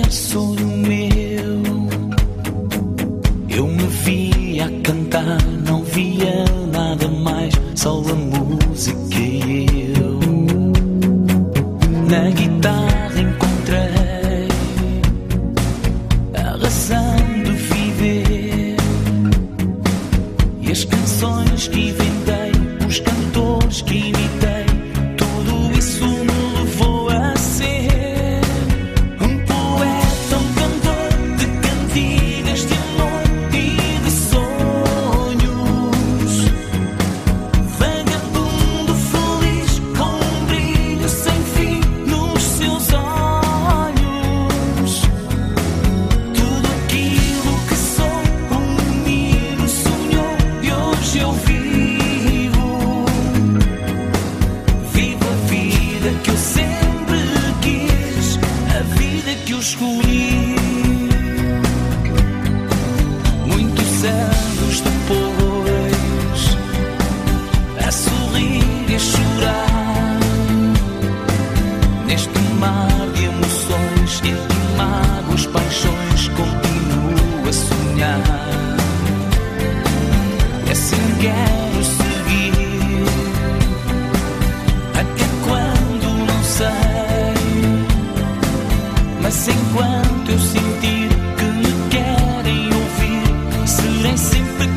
qualquer sonho meu. Eu me via a cantar, não via nada mais, só a música e eu. Na guitarra encontrei a razão de viver, e as canções que inventei, os cantores que imitei, tudo isso me levou a ser um poeta, um cantor de cantigas de amor e de sonhos, vagabundo feliz com um brilho sem fim nos seus olhos. Tudo aquilo que sou, um menino sonhou e hoje eu vivo. Vivo a vida que eu sempre quis, a vida que eu escolhi. Muitos anos depois, a sorrir e a chorar, neste mar de emoções, entre mágoas, paixões, continuo a sonhar. E assim quero seguir, até quando não sei, mas enquanto eu sentir que me querem ouvir, serei sempre